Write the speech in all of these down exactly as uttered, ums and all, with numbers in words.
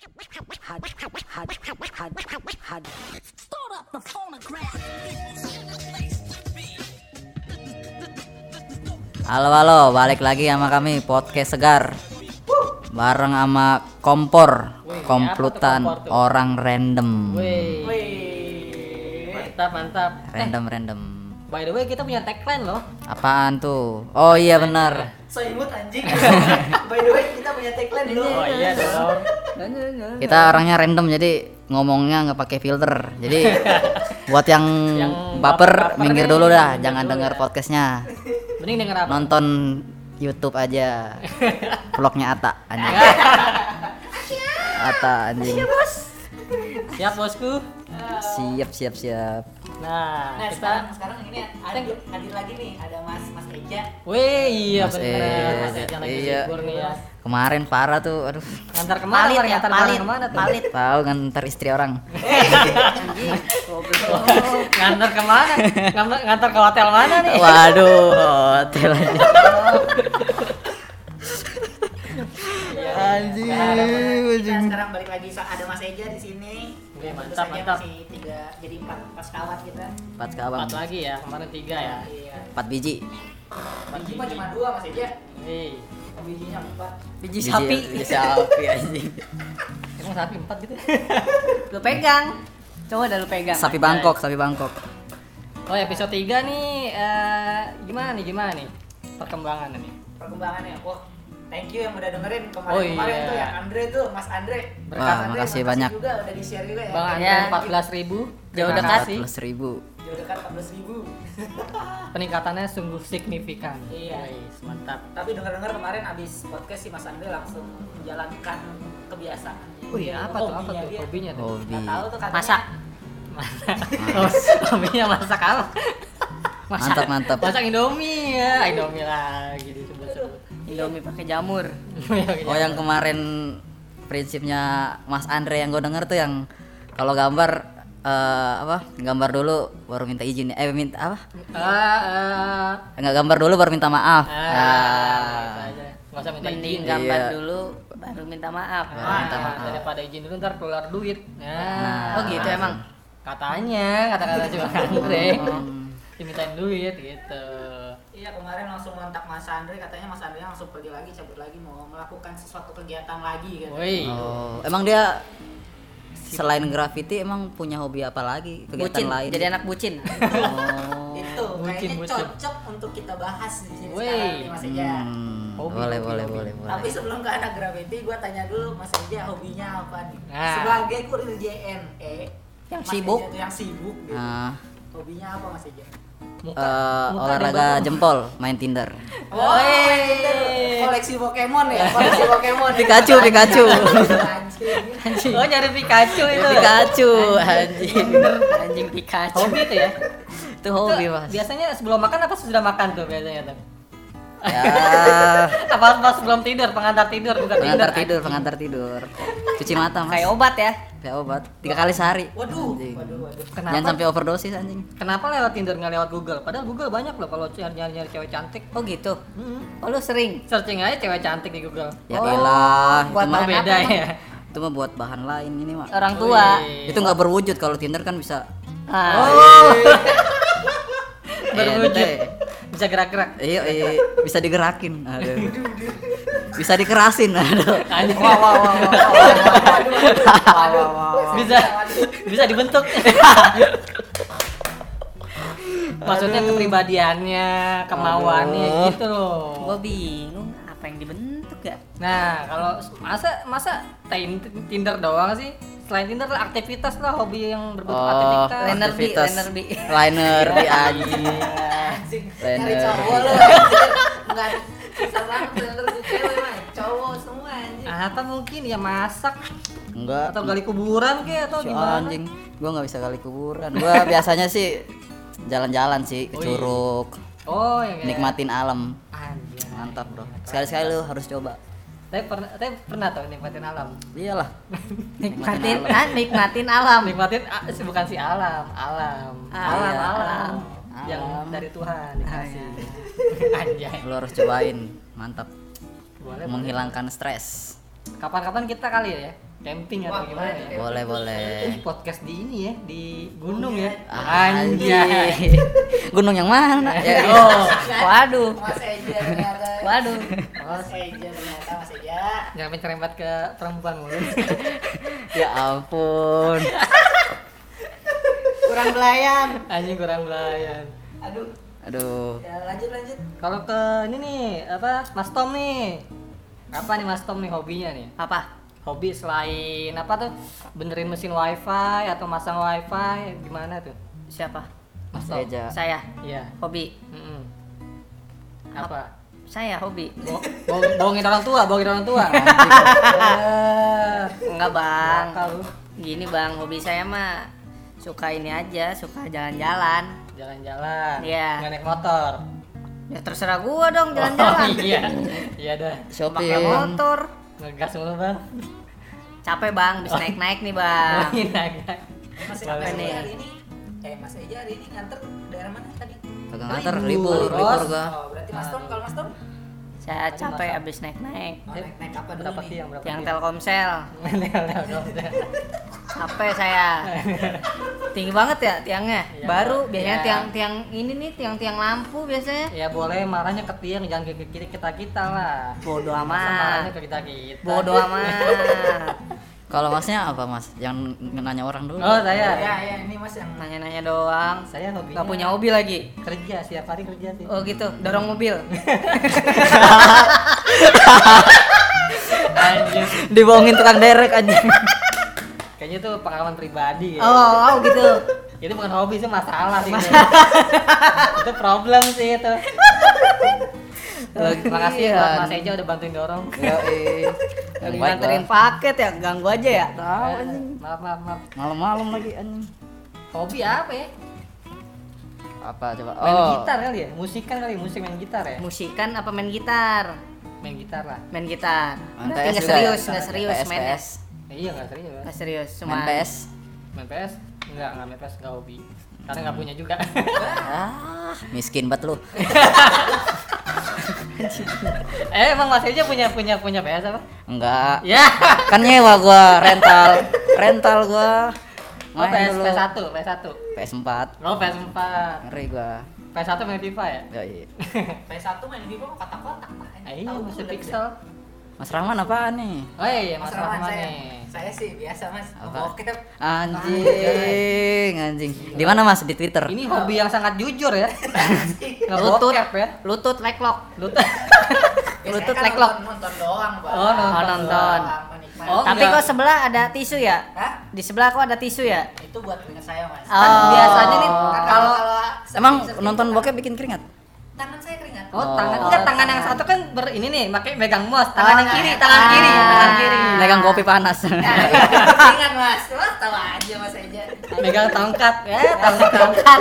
Halo halo, balik lagi sama kami podcast Segar. Bareng sama Kompor, komplutan orang random. Wih. Mantap, mantap. Random random. By the way, kita punya tagline loh. Apaan tuh? Oh iya benar. So imut anjing. By the way, kita punya tagline dulu. Oh iya dong. Kita orangnya random jadi ngomongnya nggak pakai filter. Jadi buat yang, Yang baper baper minggir nih, dulu dah, minggir jangan dulu denger ya. podcastnya. Mending denger apa? Nonton YouTube aja. Vlognya Ata anjing. Ata anjing. Siap bosku. Siap siap siap. Nah, Nah, kita sekarang sekarang ini hadir, hadir lagi nih, ada Mas Mas Eja. Wih, iya Mas bener. Ed, Mas Ed yang lagi iya. libur nih ya. Kemarin parah tuh, aduh. Ngantar kemana? Palit Mar? ya, Ngantar palit. barang kemana tuh? Palit. Tahu ngantar istri orang. Ngantar kemana? Ngantar, ngantar ke hotel mana nih? Waduh, hotel aja. Anjing. Kita sekarang balik lagi so- ada Mas Eja di sini. Oke, Tentu mantap, saja mantap. Masih tiga, jadi empat pas kawat kita. Empat kawan, Empat lagi ya, kemarin tiga ya. Iya. empat biji. Biji mah cuma dua Mas Eja. Hei, Bijinya empat. biji sapi. Biji sapi anjing. Emang sapi empat gitu? Lu pegang. Coba dah lu pegang. Sapi Bangkok, sapi Bangkok. Oh episode tiga nih, eh, gimana nih, gimana nih perkembangan nih? Perkembangannya. Wah, thank you yang udah dengerin kemarin Oh, kemarin iya. tuh ya Andre tuh, Mas Andre. Berkat Wah, Andre, makasih banyak. juga udah di share juga ya. Bang Andre Ya. empat belas ribu, jauh Terima dekat empat sih. belas ribu. Jauh dekat empat belas ribu. Peningkatannya sungguh signifikan. Iya. Wih, mantap. Tapi dengar-dengar kemarin abis podcast si Mas Andre langsung menjalankan kebiasaan. Wih, apa tuh? Apa Hobinya tuh? dia. Hobinya tuh. Hobi. Nggak tahu tuh katanya. Masak. Oh, hobinya masak apa? Mantap, mantap. Masak Indomie ya, Indomie lagi disebut-sebut. Indomie pakai jamur. Oh yang kemarin prinsipnya Mas Andre yang gue denger tuh yang kalau gambar eh, apa? Gambar dulu baru minta izin. Eh minta apa? Ah, ah, Enggak gambar dulu baru minta maaf. ah, Ah. gitu aja. Nggak usah minta Mending izin. gambar Iya. dulu baru minta maaf. Baru Ah, minta maaf. daripada izin dulu ntar keluar duit. Nah, Nah. Oh gitu emang. katanya, kata-kata cuma Andre. Hmm. Dimintain duit gitu. Iya kemarin langsung kontak Mas Andre, katanya Mas Andre langsung pergi lagi, cabut lagi mau melakukan sesuatu kegiatan lagi gitu. Woi. Oh, emang dia selain graffiti emang punya hobi apa lagi? Kegiatan Bucin. lain? Jadi anak bucin. Oh. Itu Bucin, kayaknya bucin. cocok untuk kita bahas di sini Wey. sekarang nih Mas Eja. Hmm, Hobi, boleh, hobi, boleh, hobi. boleh, boleh. Tapi sebelum ke anak graffiti, gua tanya dulu Mas Eja hobinya apa nih? Nah. Sebagai kurir J N E Yang Mas sibuk. Eja tuh yang sibuk gitu. Nah, Hobinya apa Mas Eja? Muka, eh, muka olahraga dibelakang. jempol, main Tinder. Oh, koleksi Pokemon ya, koleksi Pokemon. ya? Pikachu, Pikachu. Anjing. Oh nyari Pikachu itu. Pikachu, anjing. Anjing Pikachu. Hobi itu ya. Itu hobi, Itu Mas. Biasanya sebelum makan apa sudah makan tuh biasanya tuh? Ya, Apa pas sebelum tidur, pengantar tidur bukan pengantar tidur. tidur, pengantar tidur. Cuci mata, Mas. Kayak obat ya. Kayak obat. Tiga kali sehari. Waduh, Anjing. waduh, waduh. Kenapa? Jangan sampai overdosis anjing. Kenapa lewat Tinder nggak lewat Google? Padahal Google banyak loh kalau nyari nyari nyari cewek cantik. Oh gitu. Hmm. Oh lu sering. Searching aja cewek cantik di Google. Ya Oh, elah, itu buat mah Oh, beda apa? ya. itu mah buat bahan lain ini mah. Orang tua. Wih. Itu nggak berwujud, kalau Tinder kan bisa. Ah. Oh. Berwujud. Ente. Bisa gerak-gerak. Iya, iya, bisa digerakin. Aduh. Bisa dikerasin. Aduh. Anjing. Wah wah wah wah. Wah wah wah. Bisa bisa dibentuk. Maksudnya kepribadiannya, kemauannya Aduh. gitu loh. Gua bingung apa yang dibentuk ya? Nah, kalau masa masa tin- Tinder doang sih? Selain Tinder lah aktivitas lah, hobi yang berbentuk Oh, aktivitas. Liner B, aktivitas. liner B. Liner di anjing. Anjing. Bener. Nyari cowok lu. anjing. Enggak susah banget bener di cewek mah. Cowok semua anjing. Apa mungkin ya masak Enggak. atau gali kuburan kayak atau Si gimana? anjing. Gua nggak bisa kali kuburan. Gua biasanya sih jalan-jalan sih ke Oh, iya. Curug. Oh, yang kayak Nikmatin alam. Anjir. Mantap, Bro. Sekali-sekali lu harus coba. Tapi pernah tapi pernah tuh nikmatin alam. Iyalah. Nikmatin, ah, nikmatin alam. Nikmatin ah, sih, bukan si alam, alam. Ah, alam, iya, alam. alam. Yang Alam. dari Tuhan dikasih. Ah, Anjay. Lu harus cobain. Mantap. Boleh, boleh. Menghilangkan stres. Kapan-kapan kita kali ya camping Wah, atau gimana boleh ya? tuh. Boleh boleh. Ini podcast di ini ya, di gunung ya. Anjir. Gunung yang mana? Ya, Oh, waduh. Mas Eja ternyata. Waduh. Mas Eja ternyata Mas Eja. jangan menyerempet ke perempuan mulu. Ya ampun. Kurang belayan. Anjing kurang belayan. Aduh. Aduh. Ya lanjut lanjut. Kalau ke ini nih, apa? Mas Tom nih. Apa nih Mas Tom nih hobinya nih? Apa? Hobi selain apa tuh? Benerin mesin wifi atau masang wifi gimana tuh? Siapa? Mas Mas Tom. Eja. Saya Iya. hobi. Mm-mm. Apa? Saya hobi. Bo- bohong- bohongin orang tua, bohongin orang tua. Eh, Enggak, Bang. nakal lu. Gini, Bang, hobi saya mah suka ini aja, suka jalan-jalan. Jalan-jalan. Iya. Nggak naik motor. Ya terserah gua dong Oh, jalan-jalan. iya. Iya dah. Pakai Shopping. motor. Ngegas mulu, Bang. Capek, Bang, bisa naik-naik nih, Bang. Oh, iya, nggak. Mas Boleh. Eja nih? hari ini eh Mas Eja hari ini nganter daerah mana tadi? Kagak nganter, Libur, libur, Bos. libur gua. Oh, berarti Mas Tom kalau Mas Tom Saya Tadi capek masak. abis naik-naik. oh, naik naik apa dulu Berapa nih? tiang? Berapa Yang tiang? Telkomsel. Telkomsel. Capek saya. Tinggi banget ya tiangnya. Iya, Baru Bang. biasanya Iya. tiang-tiang ini nih, tiang-tiang lampu biasanya. Ya boleh marahnya ke tiang, jangan ke kiri kita kita lah. Bodoh Masa marahnya amat. ke kita kita. Bodoh amat. Kalau masnya apa mas? Yang nanya orang dulu. Oh saya. Ya ya ini Mas yang Nanya-nanya doang. Saya hobinya. Gak punya hobi lagi. Kerja, setiap hari kerja sih. Oh gitu, dorong mobil. Anjir. Dibohongin tukang derek anjing. Kayaknya itu pengalaman pribadi ya. Oh, oh gitu. Itu bukan hobi sih, masalah sih. Itu problem sih itu. Lagi- Makasih buat Iya. Mas Eja udah bantuin dorong. Yoi. Lagi Yang baik nganterin lah. paket ya, ganggu aja ya. Tahu Eh, anjing. Maaf, maaf, maaf. Malam-malam lagi anjing. Hobi apa ya? Apa coba? Main Oh. gitar kali ya? Musikan kali, musik main gitar ya? Musikan apa main gitar? Main gitar lah. Main gitar. Main Berarti P S nggak juga serius, ya? nggak serius P S, mainnya. P S. Eh, iya nggak serius. Nggak serius, cuma Main P S. Main P S? Enggak, enggak main P S, enggak hobi. Karena enggak punya juga. Ah, miskin banget lu. eh, emang Mas Eja punya punya punya P S apa? Enggak. Ya. Kan nyewa gua, rental. Rental gua. Oh, P S dulu. P S satu, P S satu. P S empat. Oh, P S empat. Ngeri gua. P S satu main FIFA ya? Yoi. P satu main Vivo kotak-kotak Pak. Eh, iya, Tahu masih udah pixel. Mas Rahman apaan nih? Oh iya, Mas Mas Rahman Rahman saya, nih. saya sih biasa Mas, Apa? bokep. Anjing, anjing. Di mana Mas? Di Twitter. Ini hobi yang sangat jujur ya. lutut Ngebokep ya. lutut like lock. Lutut. Biasanya Lutut kan like lock. nonton, nonton doang, Pak. Oh, nonton. Oh, nonton. Doang, menikmati. Oh, Tapi enggak. kok sebelah ada tisu ya? Hah? Di sebelah kok ada tisu ya? Itu buat keringat saya, Mas. Oh. Kan biasanya nih Kan kalau Emang sering- nonton sering- bokep bikin keringat? tangan saya keringat. Oh, Oh. tangan enggak, tangan yang satu kan ber ini nih, pakai megang mouse. Tangan Oh, yang kiri, iya. tangan kiri, Ah. tangan kiri. Megang kopi panas. Nah, itu keringat, Mas. Wah, tahu aja Mas aja. Megang tongkat. Ya, tongkat.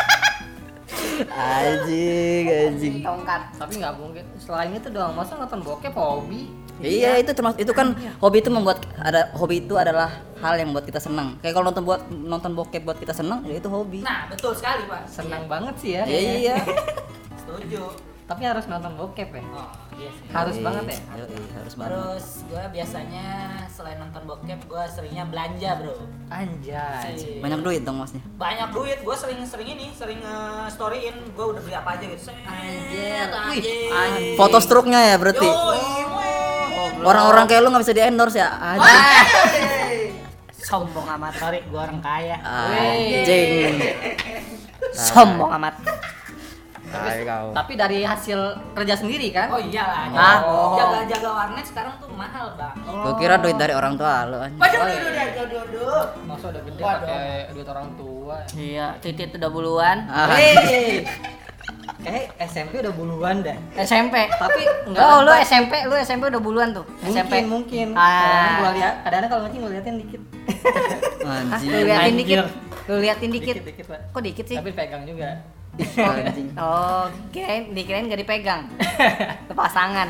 Anjing, anjing. Tongkat. Tapi nggak mungkin. Selain itu doang, masa nonton bokep hobi? Iya, itu termasuk itu kan hobi itu membuat ada hobi itu adalah hal yang membuat kita senang. Kayak kalau nonton buat nonton bokep buat kita senang, ya itu hobi. Nah, betul sekali, Pak. Senang banget sih ya. Iya. Setuju. Tapi harus nonton bokep ya. Oh, iya sih. Harus Yoi, banget ya? yoi, harus banget. Terus gue biasanya selain nonton bokep, gue seringnya belanja, Bro. Anjay. Si- Banyak duit dong masnya. Banyak duit, gue sering-sering ini, sering nge-storyin gue udah beli apa aja gitu. Set, Anjir. anjir. Anjir. Foto struknya ya berarti. Yoi, weh. Orang-orang kayak lu nggak bisa di endorse ya. Anjing. Wey. Sombong amat. Sorry, gue orang kaya. Anjing. Sombong amat. Tai kau. Tapi dari hasil kerja sendiri kan? Oh iyalah, Ah. jaga- jaga-jaga warnet sekarang tuh mahal, Bang. Gua kira duit dari orang tua lu anjing. Waduh, waduh, waduh, waduh, waduh. Masa udah gede Waduh. pakai duit orang tua. Iya, titit udah buluan. Ah, Hei. Kayak S M P udah buluan dah. S M P. Tapi enggak. Oh, lu S M P, lu S M P udah buluan tuh. S M P. Mungkin, mungkin. Ah. Gua lihat, ada gua ngecing gua liatin dikit. Hah, Anjing. lu liatin Anjir. dikit. Lu liatin dikit. Dikit, dikit, Pak. Kok dikit sih? Tapi pegang juga. Anjing. Oh, kirain dikirain gak dipegang. Lepas tangan.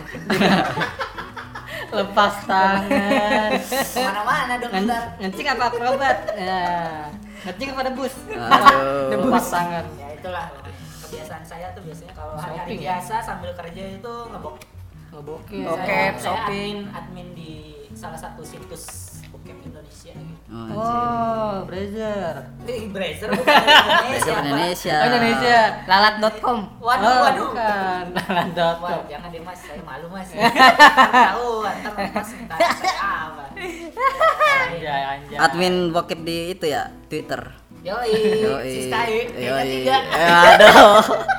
Lepas tangan. Kemana-mana dong Ngen- ntar. Ngecing apa akrobat? Ya. Ngecing apa debus? Aduh. Lepas tangan. Ya itulah kebiasaan saya tuh biasanya kalau hari-hari Shopping ya? biasa sambil kerja itu ngebok. Ngebokep. Bokep, Saya- saya shopping. admin, admin di salah satu situs bokep Indonesia gitu. Oh, anjing. Oh, Brazzer. Eh, Brazzer bukan Indonesia. Brazzer Indonesia. Oh, Indonesia. lalat dot com. Waduh, Oh, waduh. bukan. Lalat dot com. Wah, jangan deh mas, saya malu mas. Tahu, ntar mas minta saya apa? Anjay, anjay. Admin bokep di itu ya, Twitter. Yoi, Siskae, tiga Yoi. tiga. Eh, aduh.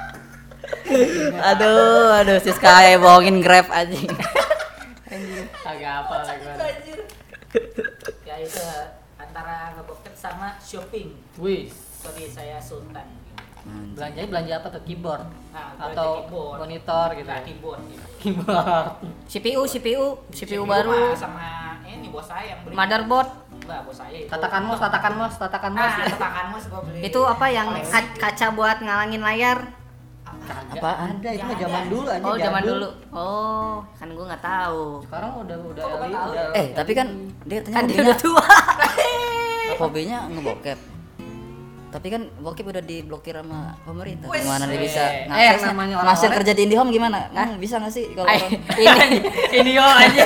aduh, aduh Siskae bohongin Grab anjing. Agak apa lagi gua. Anjir. Ya itu antara ngebokep sama shopping. Wih, Sorry, saya Sultan. belanja belanja apa tuh? Keyboard Nah, belanja atau keyboard. monitor gitu. Nah, ya? keyboard gitu. Keyboard. C P U, C P U, C P U mah baru, sama ini bos saya yang beli. motherboard. Mbak, bos saya itu. Tatakan mos, tatakan mos, tatakan mos. Ah, tatakan mos gua beli. Itu apa yang Koleksi. ka- kaca buat ngalangin layar? Kagak Apaan? ada, itu mah Nggak zaman ada. dulu aja. Oh, zaman dulu. Oh, kan gua nggak tahu. Sekarang udah udah Kok Bapak L E D, tahu? udah. Eh, tapi kan dia katanya Kan dia hobinya, udah tua. hobinya ngebokep. Tapi kan bokep udah diblokir sama pemerintah. Wes. Gimana dia bisa Eh, ngaksesnya? namanya Ngasih orang-orang- kerja di IndiHome gimana? Hmm, bisa nggak sih kalau Ay, orang- ini Ini yo aja.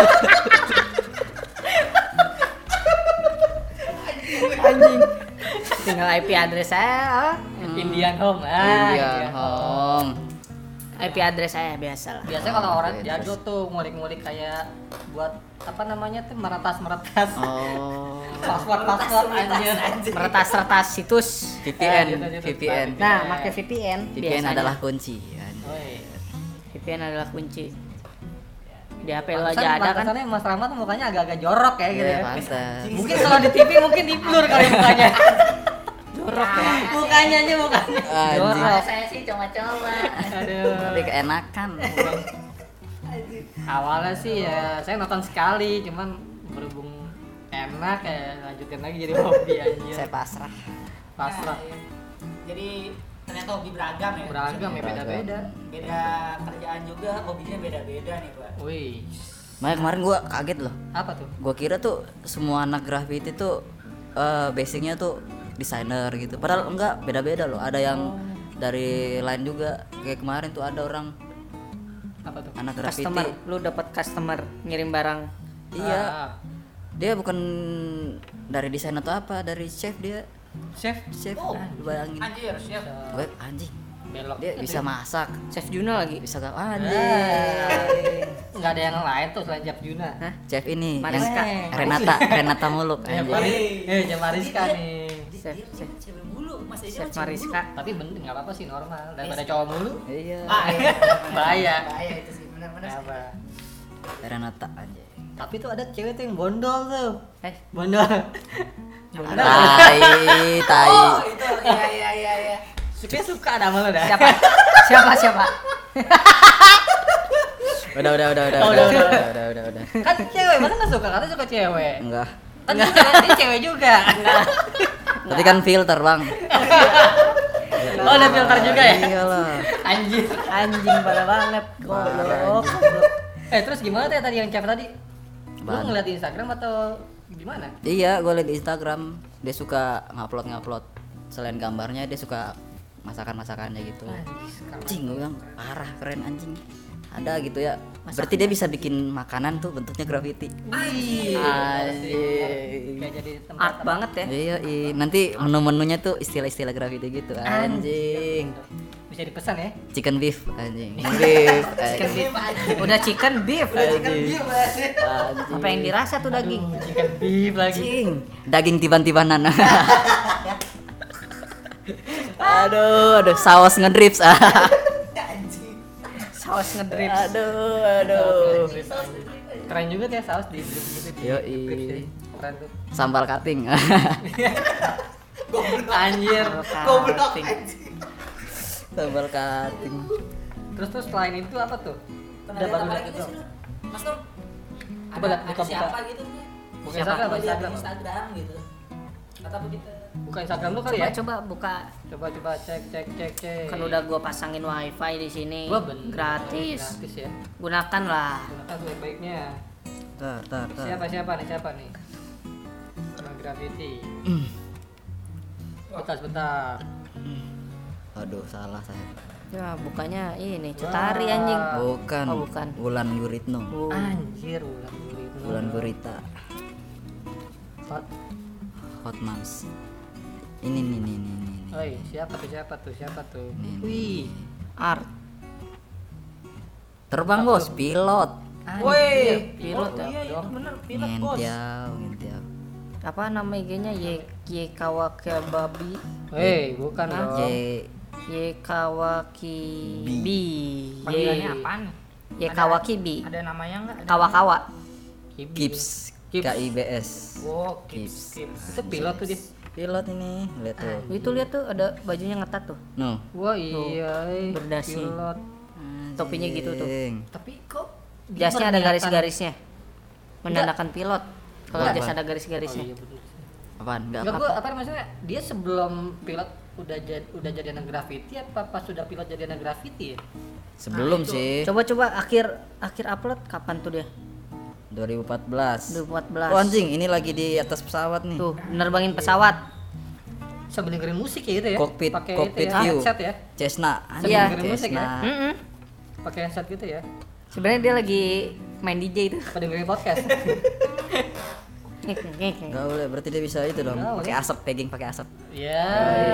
anjing. Tinggal I P address saya. Indian Home. Ah, Iya, Indian Home. I P address saya biasa lah. Biasanya kalau Oh, orang oke, jago tuh ngulik-ngulik kayak buat apa namanya tuh meretas-meretas. Oh. Password-password anjir. Meretas-retas situs. V P N, Ah, gitu, V P gitu. N. Nah, pakai V P N. V P N biasanya. adalah kunci. Woi. V P N adalah kunci. Di H P lo Pantesan- aja ada kan? pantesannya Mas Rahmat mukanya agak-agak jorok ya gitu Iya, ya. pantas. Mungkin kalau di T V mungkin di blur kali mukanya. Jorok ya. Mukanya aja mukanya. Anjing. Kalau saya sih coba-coba. Aduh. Tapi keenakan. Awalnya sih ya saya nonton sekali, cuman berhubung enak ya lanjutin lagi jadi hobi anjir. Saya pasrah. Pasrah. Nah, iya. Jadi ternyata hobi beragam ya. Beragam ya, beda-beda. Beda kerjaan juga, hobinya beda-beda nih, Pak. Wih. Makanya kemarin gua kaget loh. Apa tuh? Gua kira tuh semua anak graffiti tuh eh, basicnya tuh desainer gitu. Padahal enggak, beda-beda loh. Ada yang dari lain juga. Kayak kemarin tuh ada orang Apa tuh? anak graffiti. Customer, lu dapat customer ngirim barang. Iya. Ah, Dia bukan dari desain atau apa, dari chef dia. chef Chef. Oh. Ah, lu bayangin. Anjir, siap. Gue anjing. belok. Dia bisa masak, Chef Juna lagi. bisa gak Ah. anjing. Enggak ada yang lain tuh selain Chef Juna. Hah? Chef ini Mariska. yang Renata, Renata Muluk Eh, anjing. Mari, eh, Chef Mariska nih. Chef, chef, Cewek mulu, Mas Edi Chef mah cewek Mariska. Tapi bener nggak apa-apa sih normal daripada cowok mulu. Iya. mulu. Ah, iya. Bahaya. Bahaya itu sih, benar-benar sih. Apa? Renata anjing. Tapi tuh ada cewek tuh yang bondol tuh. Eh, Bondol. Tai, tai. Oh, itu iya iya iya iya. Suka suka ada sama lo dah. siapa? siapa siapa? Udah, udah, udah, udah, Oh, udah, udah, udah, udah. udah, udah, udah. Kan cewek, masa nggak suka? Katanya suka cewek. Enggak. Kan dia cewek, dia cewek juga. Tapi kan filter, Bang. Oh, ada filter juga ya? Iyalah. Anjir. Anjing pada banget. Goblok. Eh terus gimana tuh ya tadi yang cewek tadi? Lu Apaan? ngeliat di Instagram atau gimana? Iya, gue liat di Instagram dia suka ngupload ngupload. Selain gambarnya dia suka masakan-masakannya gitu. Anjing, gue bilang parah, keren anjing. Ada gitu ya. Berarti dia bisa bikin makanan tuh bentuknya graffiti. Anjir. Anjing. Kayak jadi tempat Art banget ya. Iya, iya. Nanti menu-menunya tuh istilah-istilah graffiti gitu. Anjing. bisa dipesan ya. Chicken beef anjing. Beef. Chicken anjing. beef. Udah chicken beef. Anjing. Apa yang dirasa tuh daging? Chicken beef lagi. Anjing. Daging tiban-tibanan. aduh, aduh, saus ngedrips. Saus ngedrip. aduh, aduh. Keren juga tuh ya saus di drip gitu. di- Yoi. di drips deh. Keren tuh. Sambal cutting. Anjir. Goblok Cutting. anjing. Sambal cutting. Terus terus selain itu apa tuh? Pernah Udah lihat baru apa lihat lagi itu. sih lu? Mas Nur? Coba Ada- lihat, ada buka, buka. siapa gitu? Bukan Siapa? Instagram, Aku lihat Instagram. di Instagram gitu. Kata begitu. Buka Instagram lu kali Coba ya? coba buka. Coba coba cek cek cek cek. Kan udah gua pasangin wifi di sini. Gua bener. Gratis. Gratis ya. Gunakan lah. Gunakan sebaik-baiknya. Tar, tar, tar. Siapa siapa nih siapa nih? Sama graffiti. Bentar sebentar. Aduh, salah saya. Ya bukanya ini Cetari anjing. Bukan. Oh, bukan. Wulan Guritno. Bu- Anjir ulang itu. Wulan Gurita. Hot. Hot Moms. Ini nih nih nih nih. Oi, siapa tuh siapa tuh siapa tuh? Nih, nih. Wih. Art. Terbang bos, pilot. Woi, pilot oh, ya, iya, iya dong. bener, pilot bos. Ngentiau, ngentiau. Apa nama I G-nya? Y Y Kawakababi. Hei, bukan J dong. Y Kawaki B. Panggilannya Y apaan? Y Kawaki B. Ada namanya enggak? Kawa-kawa. Gibbs, Gibbs. K I B S. Oh, Kips, Gibbs. Kips. Itu pilot tuh dia. Pilot ini, lihat tuh. Itu lihat tuh ada bajunya ngetat tuh. No. Wah iya, eh, berdasi. pilot. Topinya gitu tuh. Anjing. Tapi kok Jasnya ada berniatan- garis-garisnya. Menandakan pilot. Kalau Enggak, jas Bang. ada Oh garis-garisnya. iya betul. Apaan? Enggak Enggak apa-apa. gua apa maksudnya dia sebelum pilot udah jadi udah jadi anak graffiti apa pas sudah pilot jadi anak graffiti ya? Sebelum Nah, itu. sih Coba-coba akhir akhir upload kapan tuh dia? dua ribu empat belas. dua ribu empat belas. Oh anjing, ini lagi di atas pesawat nih. Tuh, nerbangin pesawat. Sambil dengerin musik ya itu ya? Cockpit, Pakai cockpit itu ya, view. headset ya? Cessna. Sambil Iya. dengerin musik ya? Cessna. Mm-mm. Pakai headset gitu ya? Sebenarnya dia lagi main D J itu. Apa dengerin podcast? Enggak boleh, berarti dia bisa itu dong. Nggak Pakai boleh. asap, pegging pakai asap. Ya.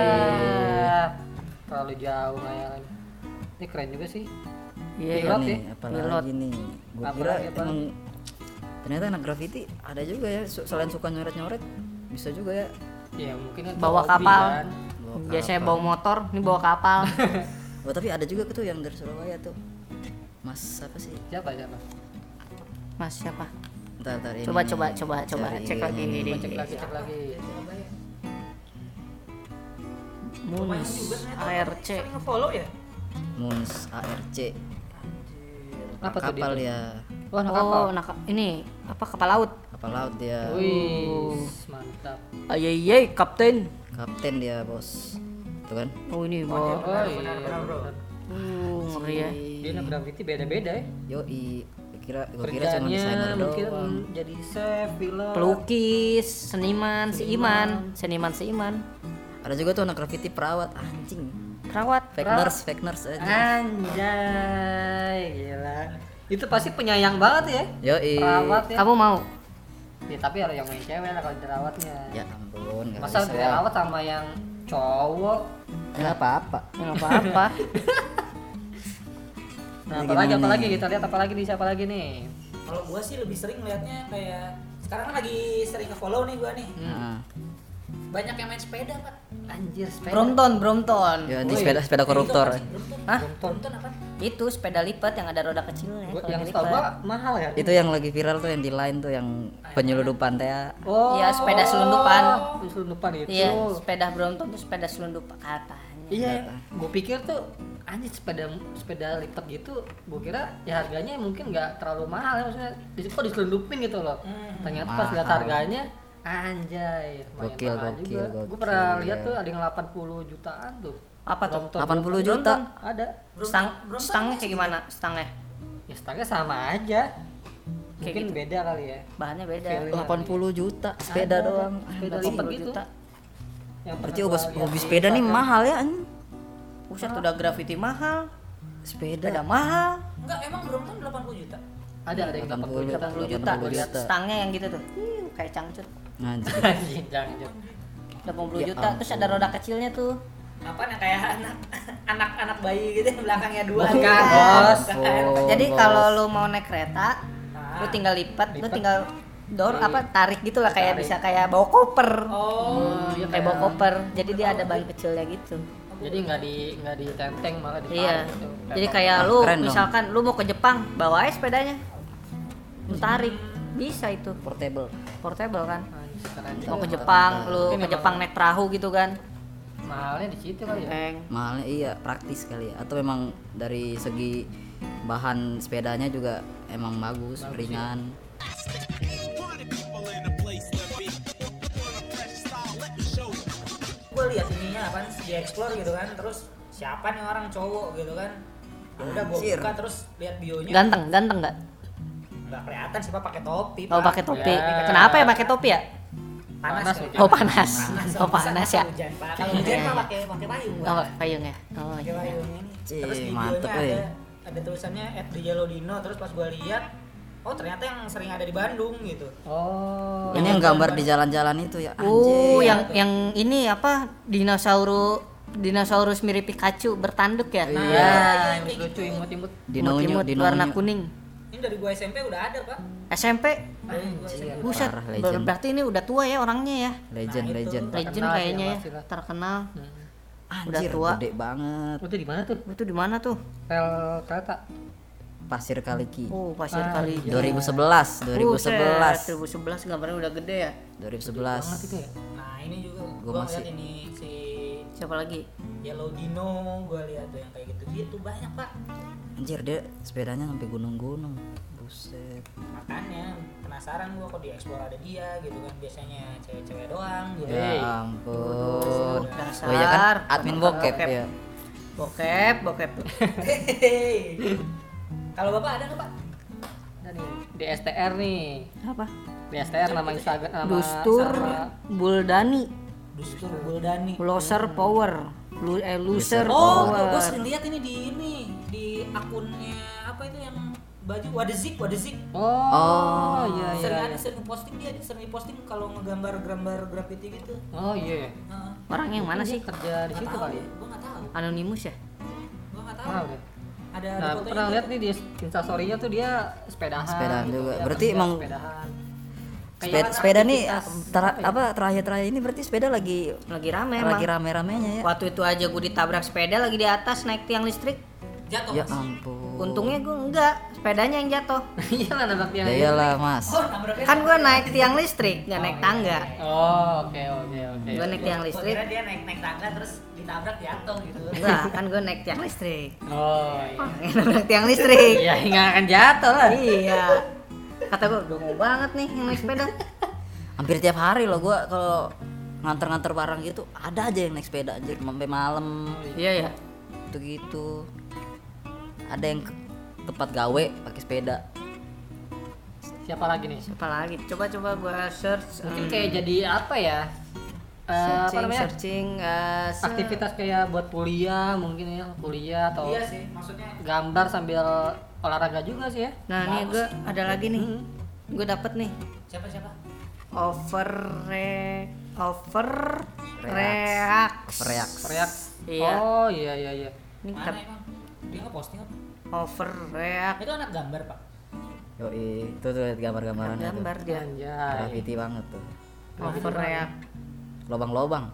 Terlalu jauh ngayalan. Ini keren juga sih. Iya, Pilot nih, ya? apalagi Pilot. nih. Gua Apa kira lagi, apa emang ternyata anak graffiti ada juga ya, su- selain suka nyoret-nyoret bisa juga ya. Ya mungkin kan Bawa hobi kapal. kan. Bawa Biasanya kapal. bawa motor, ini bawa kapal. Oh, tapi ada juga tuh yang dari Surabaya tuh. Mas apa sih? Siapa siapa? Mas siapa? Ntar, ntar ini. Coba nih. coba coba coba Cari cek lagi ini. ini Coba deh. cek lagi cek lagi. Munis A R C. sering nge-follow ya? Muns A R C. Apa tuh dia Kapal tuh? dia. Wah, anak kapal. Oh, nak ini apa kapal laut? Kapal laut dia. Wih, mantap. Ayai, kapten. Kapten dia, Bos. Tuh kan? Oh, ini bawa. Oh iya, benar, benar, bro. benar. Uh, ngeri ya. Dia anak graffiti beda-beda ya. Yoi. Gua kira gua kira cuma desainer Kerjanya mungkin doang. jadi chef, pilot. Pelukis, seniman, seiman, seniman seiman. Ada juga tuh anak graffiti perawat anjing. Perawat. Fake Perawat. nurse, fake nurse aja. Anjay, gila. Itu pasti penyayang banget ya. Yoi. Perawat ya. Kamu mau? Ya, tapi ada yang main cewek lah kalau dirawatnya. Ya ampun, enggak Masa bisa. dirawat sama yang cowok? Enggak apa-apa. Ya nggak apa-apa. Nah, Ini apalagi gimana apalagi nih? kita lihat apalagi nih siapa lagi nih? Kalau gua sih lebih sering liatnya kayak sekarang kan lagi sering nge-follow nih gua nih. Heeh. Banyak yang main sepeda, Pak. Anjir, sepeda. Brompton, Brompton. Ya anjing Woi. sepeda sepeda koruptor. Hah? Brompton apa? Itu sepeda lipat yang ada roda kecilnya. Gua- kalau yang dilipat. setahu gua mahal ya? Itu yang lagi viral tuh yang di line tuh yang penyelundupan teh. ya. Oh. Iya, sepeda selundupan. Selundupan itu. Iya, sepeda Brompton itu sepeda selundup katanya. Iya, gue pikir tuh anjir sepeda sepeda lipat gitu, gue kira ya harganya mungkin nggak terlalu mahal ya maksudnya. Di kok diselundupin gitu loh. Ternyata pas Mahal. lihat harganya, anjay, lumayan Gokil, mahal gokil, juga. gokil, Gue pernah ya. lihat tuh ada yang delapan puluh jutaan tuh. Apa tuh? Brompton. delapan puluh juta? Brompton, ada. Stang, Brompton stangnya kayak gimana? Stangnya? Ya stangnya sama aja. Mungkin gitu. beda kali ya. Bahannya beda. Feeling. delapan puluh juta sepeda Ada, doang. sepeda Anjing. lipat 80 gitu. juta. Yang Berarti pernah hobi, gua lihat hobi di sepeda nih Instagram. mahal ya anjing. Buset, udah graffiti mahal. Sepeda. Sepeda mahal. Enggak, emang Brompton delapan puluh juta. Ada ada yang delapan puluh juta. delapan puluh juta. delapan puluh juta. Stangnya yang gitu tuh. Ih, kayak cangcut. Anjing. Anjing, jangan jangan. delapan puluh Ya juta. Terus ada roda kecilnya tuh. Apa yang kayak anak anak anak bayi gitu yang belakangnya dua. Bukan, gitu. bos. Oh, Jadi bos. kalau lu mau naik kereta, Ah. lu tinggal lipat, lu Lipat. tinggal door Iya. apa tarik gitu lah kayak Tarik. bisa kayak bawa koper. Oh, dia Kayak bawa koper. Jadi dia ada ban kecilnya gitu. Jadi nggak di nggak ditenteng malah ditarik Iya. gitu. Jadi kayak lu Keren dong. misalkan lu mau ke Jepang, bawa aja sepedanya. Lu tarik. Bisa itu. portable. Portable kan. Anjir, keren. Mau ke Jepang, lu Mungkin ke emang Jepang naik perahu gitu kan. mahalnya di situ kali ya. Peng. Mahalnya iya, praktis kali ya. Atau memang dari segi bahan sepedanya juga emang bagus, ringan. gue lihat ininya apa di explore gitu kan, terus siapa nih orang cowok gitu kan, ya udah gue Anjir. buka terus lihat bionya, Ganteng, ganteng nggak? nggak kelihatan sih pak, pakai topi. Oh Pak. pakai topi. Ya. Kenapa ya pakai topi ya? panas, Panas, kali. mungkin. Oh panas. Oh Bisa panas ya. hujan, Pak. Kalau hujan pak pakai pakai payung. Oh Pak. payung ya. Oh Pakai iya. payung ini. Cih, Terus di mantep, bionya ada eh. ada tulisannya at the Yellow Dino, terus pas gue lihat oh ternyata yang sering ada di Bandung gitu. Oh. Ini yang gambar di jalan-jalan itu ya. Oh, Anjir. yang yang ini apa? Dinosaurus dinosaurus mirip Pikachu bertanduk ya? Iya. Iya, kayak imut lucu, gitu. imut-imut. Dino-nyo, Imut-imut dino-nyo. warna kuning. Ini dari gua S M P udah ada, Pak. S M P. Dari gua S M P. Buset. Parah, ber- legend. Berarti ini udah tua ya orangnya ya. Legend, Nah, itu. legend. Legend Terkenal kayaknya sih, ya, pasti lah. terkenal. Hmm. Udah Anjir, tua. gede banget. Itu di mana tuh? Itu di mana tuh? Rel kereta. Pasir Kaliki. Oh, Pasir Ah, Kali. iya. dua ribu sebelas, dua ribu sebelas. dua ribu sebelas gambarnya udah gede ya. dua ribu sebelas. Banget itu ya. Nah, ini juga Gua gua masih- lihat ini si Siapa lagi? Yellow Dino, gua lihat tuh yang kayak gitu-gitu banyak, Pak. Anjir, dia sepedanya sampai gunung-gunung. Buset. Makanya penasaran gua kok di explore ada dia gitu kan, biasanya cewek-cewek doang gitu. Hey. Ya ampun. Dasar. Oh iya kan admin bokep Bokep. ya. Bokep, bokep. Hehehe. Kalau Bapak ada nggak, Pak? Ada nih di S T R nih. Apa? Di S T R nama Instagram nama Dustur sama- Buldani, Dustur Buldani. Loser Power. Lu eh loser Oh, power. gua sering lihat ini di ini di akunnya apa itu yang baju Wadezik, Wadezik. Oh, Oh. iya iya. Sering iya. ada sering posting dia, dia sering posting kalau ngegambar-gambar graffiti gitu. Oh iya. Heeh. Orangnya yang mana Dia sih? kerja di Nggak situ tahu kali ya? ya, gua nggak tahu. Anonimus ya? Gua nggak tahu. Tahu deh. Ada ada Nah, fotonya pernah gitu. lihat nih di instastory-nya tuh dia sepedahan. Sepedahan gitu. juga. Dia Berarti kerja emang- sepedahan. Sepeda, Kayak sepeda nih aktivitas tera- apa ya? apa terakhir-terakhir ini berarti sepeda lagi Lagi rame emang. lagi rame-ramenya ya. Waktu itu aja gue ditabrak sepeda lagi di atas naik tiang listrik. Jatuh. Ya Mas. ampun. Untungnya gue enggak, sepedanya yang jatuh. Iya lah nabrak tiang. Ya iyalah, Mas. Oh, nabraknya. Kan gue naik tiang listrik, nggak naik tangga. Oh, oke oke oke. Gue naik tiang Gua listrik. kira dia naik-naik tangga terus ditabrak jatuh gitu. Enggak, kan gue naik tiang listrik. Oh, iya. Nabrak tiang listrik. Iya, nggak akan jatuh lah. Iya. Kata gue, gue mau banget nih yang naik sepeda. Hampir tiap hari loh gua kalau nganter-nganter barang gitu ada aja yang naik sepeda aja sampai malam Iya ya. gitu gitu. Ada yang ke tempat gawe pakai sepeda. Siapa lagi nih? Siapa lagi? Coba-coba gue search. Mungkin hmm, kayak jadi apa ya? Eh, apa searching, namanya? searching eh, se- Aktivitas kayak buat kuliah mungkin ya, kuliah atau Iya sih, maksudnya gambar sambil olahraga juga sih ya. Nah, nih gue ada lagi nih. Hmm. Gue dapet nih. siapa siapa? Over re over React. react. React. Reak. Iya. Oh, iya iya iya. Ini Mana ter- emang? Dia nggak posting apa? over react. Itu anak gambar, Pak. Yoi, itu tuh liat gambar-gambaran itu. Gambar dia. Anjay. Graffiti banget tuh. Over react. Lobang-lobang.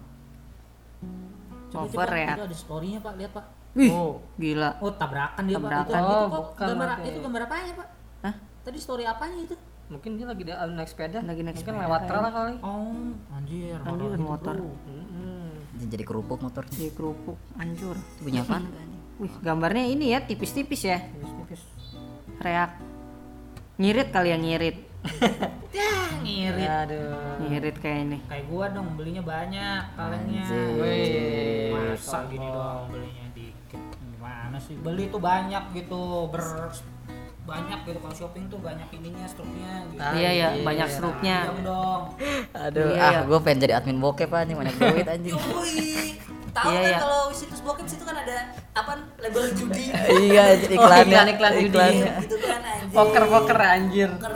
Coba, Over coba, react. Itu ada story-nya, Pak. Lihat, Pak. Wih, Oh. gila. Oh, tabrakan dia, Pak. Tabrakan. Itu, Oh, itu kok bukan gambar berarti. itu gambar apanya, Pak? Hah? Tadi story apanya itu? Mungkin dia lagi di- naik sepeda. Lagi naik Mungkin sepeda, lewat ya. trail lah kali. Oh, anjir. Anjir, horor gitu, motor. bro. Mm-mm. Jadi kerupuk motornya. Di kerupuk hancur. Itu punya apaan? Wih, gambarnya ini ya tipis-tipis ya. Tipis-tipis. React. Ngirit kali ya ngirit. Ya, ngirit. Aduh. Ngirit kayak ini. Kayak gua dong, belinya banyak kalengnya. Anjir. Wih, Masa gini doang belinya dikit. Gimana sih? Beli tuh banyak gitu, ber banyak gitu kalau shopping tuh banyak ininya, struknya gitu. Ah, Iya ya, iya. banyak struknya. Diam dong. Aduh, Iya, ah iya. gua pengen jadi admin bokep anjing, banyak duit anjing. Yoi. Tahu Iya, kan iya. kalau situs bokep situ kan ada apa label judi. Iya, jadi Oh, iklannya. iklan, iklan judi. iklannya. Gitu kan anjir. Poker-poker anjir. Poker.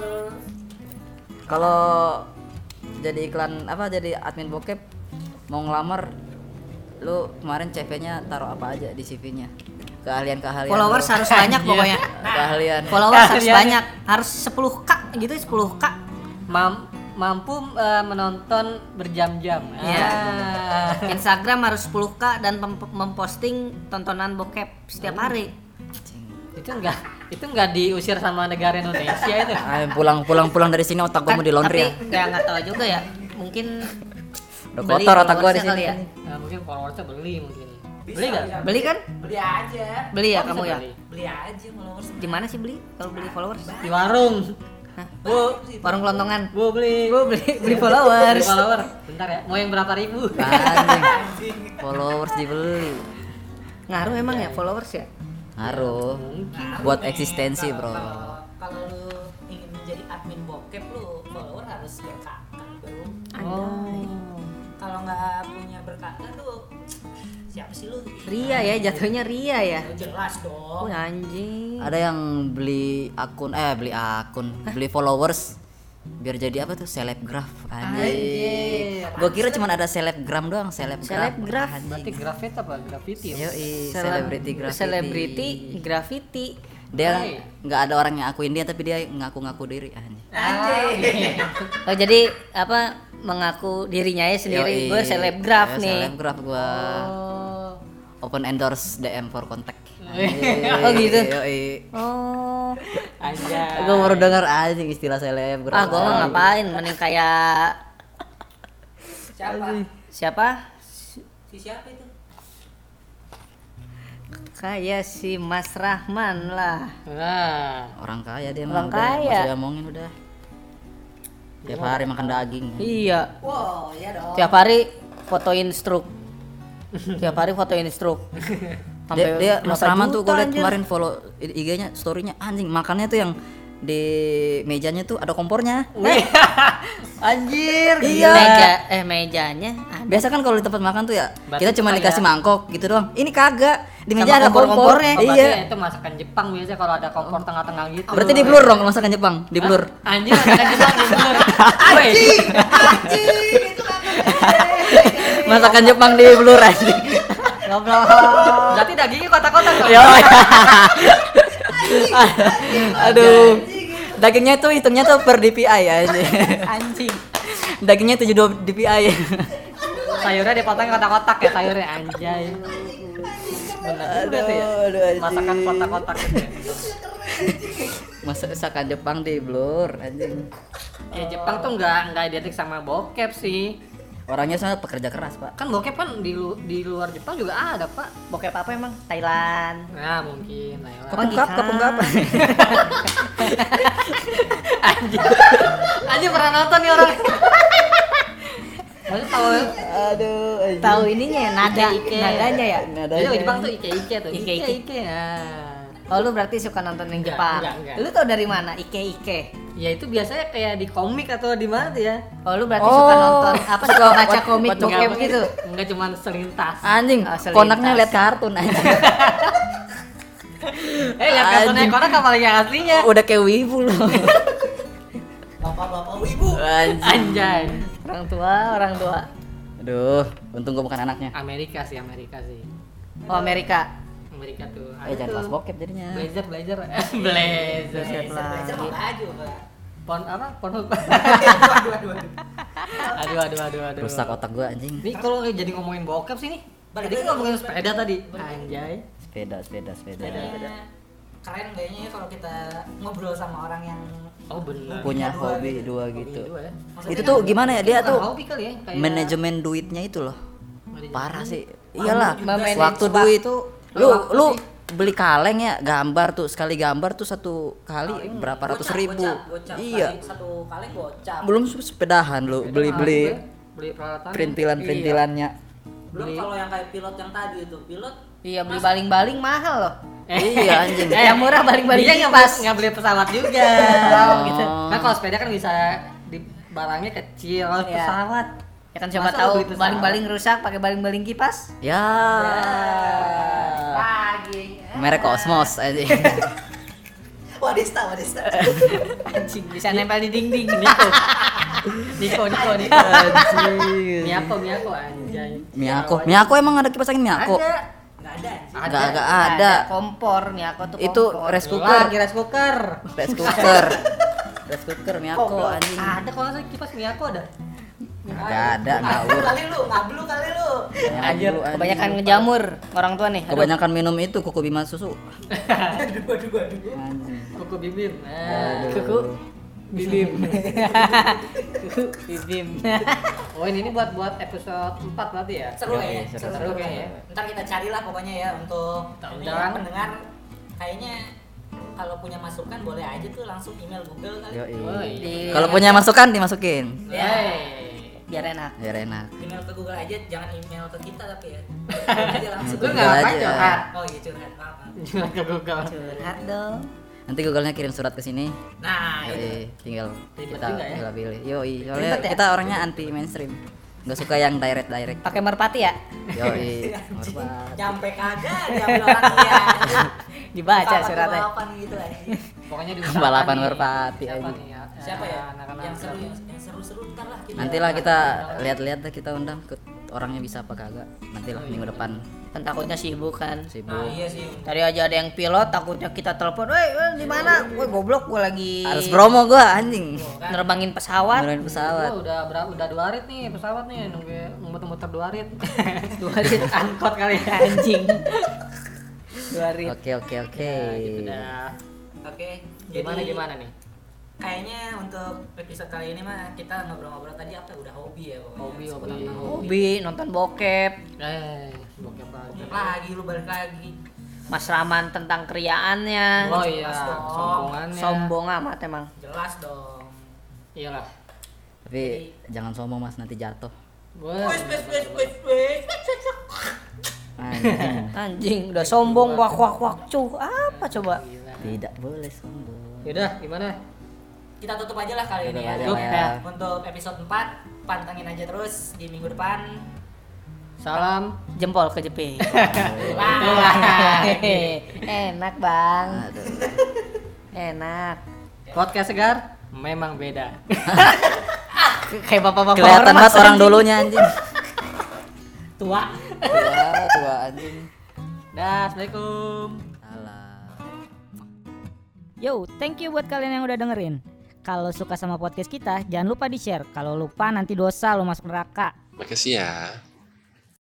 Kalau jadi iklan apa jadi admin bokep mau ngelamar lu kemarin C V-nya taruh apa aja di C V-nya? Keahlian-keahlian. Followers lu. harus banyak pokoknya. Keahlian. Followers harus Kalian- banyak, harus sepuluh k gitu, sepuluh k. Mam- mampu eh, menonton berjam-jam. Iya. Ah. Instagram harus sepuluh k dan mem- memposting tontonan bokep setiap hari. Itu enggak itu enggak diusir sama negara Indonesia itu. Ah, pulang pulang pulang dari sini otak gua mau di laundry ya. Kan, tapi ya nggak tahu juga ya. Mungkin Udah beli kotor otak gua di followersnya sini. kali ya. Nah, mungkin followersnya beli mungkin. Bisa, Beli enggak? bisa. Beli kan? Beli aja. Beli ya Oh, kamu bisa ya? beli. Beli aja followers. Di mana sih beli kalau beli followers? Di warung. Hah? Bu, Warung kelontongan. bu beli. Gue beli beli Beli followers. follower. Bentar ya. Mau yang berapa ribu? Anjing. Followers dibeli. Ngaruh emang ya followers ya? Ngaruh. Mungkin. Buat eksistensi, Bro. Kalau kalau lu ingin menjadi admin bokep lu follower harus berkakak, Bro. Oh. Kalau nggak punya berkakak tuh siapa sih lu? Ria ya, jatuhnya Ria ya. Jelas dong. Oh anjing. Ada yang beli akun eh beli akun, beli followers biar jadi apa tuh selebgraf anjing. Gua kira cuma ada selebgram doang, selebgraf. Selebgraf. Berarti grafit apa? Graffiti ya? Yoi, Seleb- celebrity graffiti. Celebrity graffiti. Dia Hey. nggak ada orang yang akuin dia tapi dia ngaku-ngaku diri anjing. Oh jadi apa mengaku dirinya ya sendiri. Yoi. Gue selebgraf Ya, nih. Selebgraf gua. Oh. Open endorse D M for contact. Oh gitu. Yoi. Oh. Anjay. Gue baru dengar anjing istilah selebgram. Ah gue mah ngapain? Mending kayak Siapa? siapa? Si siapa itu? Kayak si Mas Rahman lah. Nah. Orang kaya dia Orang mah udah, kaya. nggak usah diomongin udah. Tiap hari makan daging. Iya. Wow, iya dong. Tiap hari fotoin struk. Tiap hari fotoin struk. Dia, dia Mas berapa Rahman tuh gue juta, liat anjir. kemarin follow I G-nya, story-nya anjing makannya tuh yang di mejanya tuh ada kompornya. Anjir. Iya. Meja eh mejanya ada. Biasa kan kalau di tempat makan tuh ya Berarti kita cuma kayak- dikasih mangkok gitu doang. Ini kagak. Di meja Sama ada kompor. kompor-kompornya. Oh, berarti Iya. itu masakan Jepang biasanya kalau ada kompor tengah-tengah gitu. Berarti di blur dong masakan Jepang, di blur. Anjir, masakan Jepang di blur. Anjing. Masakan Jepang di blur anjing. Goblok. Berarti dagingnya kotak-kotak dong. Yo. Aduh. Dagingnya tuh hitungnya tuh per D P I ya anjing. Anjing. Dagingnya tujuh puluh dua D P I. Sayurnya dipotong kotak-kotak ya sayurnya anjay. Benar juga tuh ya. aduh, anjing. Masakan kotak-kotak gitu ya. Masakan Jepang di blur anjing. Ya Jepang tuh nggak nggak identik sama bokep sih. Orangnya soalnya pekerja keras, Pak. Kan bokep kan di lu, di luar Jepang juga ada, Pak. Bokep apa emang? Thailand. Nah, mungkin. Nah, ya. Kepungkap, kepungkap. Anjir. Anjir pernah nonton nih orang. Maksudnya tahu Aduh, anjing. Tahu ininya ya, nada Ike. nadanya ya? Nadanya. Jadi Jepang tuh ike-ike tuh. Ike-ike. Ike-ike. Nah. Oh lu berarti suka nonton yang Enggak, Jepang? enggak, enggak. Lu tau dari mana? Ike Ike. Ya itu biasanya kayak di komik atau di mana tuh ya. Oh lu berarti Oh, suka nonton apa? Suka baca baca- komik baca bokep Enggak, gitu? Enggak cuma selintas. Anjing, Oh, selintas. konaknya lihat kartun anjing. Eh, lihat kartunnya Anjing. konak apa yang aslinya? Udah kayak wibu loh. Bapak-bapak wibu. Anjing. Anjay. Orang tua, orang tua. Aduh, untung gua bukan anaknya. Amerika sih, Amerika sih. Oh Amerika. Amerika tuh. Eh, Ada jangan tuh. kelas bokep jadinya. Blazer, blazer. Eh, blazer. Belajar mau baju, Pak. Pon apa? Pon. Aduh, aduh, aduh. Aduh, aduh, aduh, aduh. Rusak otak gua anjing. Nih kalau jadi ngomongin bokep sih nih. Balik Tadi lagi kan ngomongin ngomongin sepeda tadi. Anjay. Sepeda, sepeda, sepeda. Kayaknya keren kayaknya ya kalau kita ngobrol sama orang yang Oh benar. Punya dua hobi gitu. dua Hobi gitu. dua ya. Maksudnya Itu tuh gimana ya dia Bukan tuh hobi kali ya, kayak manajemen duitnya itu loh. manajemen Parah duit. sih. Iyalah, Memanage waktu waktu. duit lu Waktu lu sih. beli kaleng ya gambar tuh sekali gambar tuh satu kali berapa ratus Gocap, ribu. gocap, gocap. Iya. Kali Satu kali gocap. Belum sepedahan lu Sepeda beli mahal beli juga. Beli peralatan. perintilan-perintilannya. Belum beli. kalau yang kayak pilot yang tadi itu, pilot Iya beli baling-baling mahal loh. Iya anjing. Eh, Yang murah baling-baling dia nggak kipas. beli- nggak beli pesawat juga. Oh. gitu. Kan kalau sepeda kan bisa di barangnya kecil, kalau Iya. pesawat. Ya kan siapa Masa tahu lu beli pesawat? baling-baling rusak pakai baling-baling kipas. Ya. Pagi. Merek Cosmos anjing. Wadista, Wadista. Anjing bisa nempel di dinding. Niko. Niko, Niko, Niko. Anjing. Miyako, Miyako anjay. Miyako. Miyako emang ada kipas angin Miyako? Ada. Enggak ada. anjing. Ada. Enggak enggak ada. kompor nih aku tuh Itu kompor. rice Cooker. cooker. Lagi rice cooker. Rice cooker. Rice cooker Miyako Goblok. anjing. Ada kalau nggak salah kipas Miyako ada. Enggak ada Ngablu ngawur. kali lu, ngablu kali lu. Anjir, Kebanyakan ngejamur orang tua nih. Aduh. Kebanyakan minum itu kuku bima susu. Aduh, aduh, aduh. Anjing. Kuku bibim. Nah, Aduh. kuku bibim. Bibim. Oh, ini, ini buat buat episode empat berarti ya? Seru Iya, kayaknya. seru, Seru, seru seru kayaknya. kayaknya. Ntar kita carilah pokoknya ya untuk ini Undang. ya, pendengar. Kayaknya kalau punya masukan boleh aja tuh langsung email Google kali. Yoi. Woi. Di- Kalau punya masukan dimasukin. Ya. Hey. biar enak. Biar enak. Email ke Google aja, jangan email ke kita tapi ya. Google aja langsung. Lu Google nggak ngapain aja. curhat? Oh iya curhat, maaf. maaf. Jual ke Google. Curhat dong. Nanti Google-nya kirim surat ke sini. Nah, itu. Yoi, tinggal Ribet kita juga ya. tinggal pilih. Yoi, soalnya Ribet ya? kita orangnya anti mainstream. nggak suka yang direct direct. Pakai merpati ya? Yoi. Nyampe kagak diambil orang dia. Dibaca suratnya. Balapan gitu aja. Pokoknya di Balapan merpati siapa aja. nih ya? Siapa ya? Anak-anak Yang seru yang seru-seru ntar lah kita. Nantilah kita lihat-lihat deh, kita undang ke orangnya bisa apa kagak. Nantilah minggu depan Kan takutnya sibuk kan. sibuk. Nah, iya sih. Tadi aja ada yang pilot, takutnya kita telepon, "Woi, woi, di mana? Woi, goblok, gua lagi Harus promo gua anjing. nerbangin pesawat." Beneran pesawat. Gua udah berapa udah dua rit nih pesawat nih nunggu muter-muter dua rit. Dua rit angkot kali ya. Anjing. Dua rit. Oke oke oke. Ya, gitu dah. Oke. Gimana jadi gimana nih? Kayaknya untuk episode kali ini mah kita ngobrol-ngobrol tadi apa udah hobi ya pokoknya. Hobi, Suka hobi. tentang Hobi nonton bokep, Eh, bokep lagi. Lagi lu balik lagi. masraman tentang kriaannya. Oh iya, Jelas dong. sombongannya. Sombong amat emang. Jelas dong. Iyalah. Tapi jangan sombong Mas, nanti jatuh. Wah. Wes wes wes wes wes. Anjing. Anjing, udah sombong wak wak wak cuh. Apa coba? Gila. Tidak boleh sombong. Yaudah, gimana? Kita tutup aja lah kali ini Tutup ya. aja Tutup lah ya. Untuk episode empat pantengin aja terus di minggu depan. Salam. Jempol kejepit. Wah. Enak, Bang. Aduh. Enak. Podcast segar memang beda. Kayak bapak-bapak Kelihatan ormas, banget orang anjing. dulunya anjing. Tua. Tua, tua anjing. Dah, assalamualaikum. Salah. Yo, thank you buat kalian yang udah dengerin. Kalau suka sama podcast kita, jangan lupa di-share. Kalau lupa nanti dosa lo masuk neraka. Makasih ya.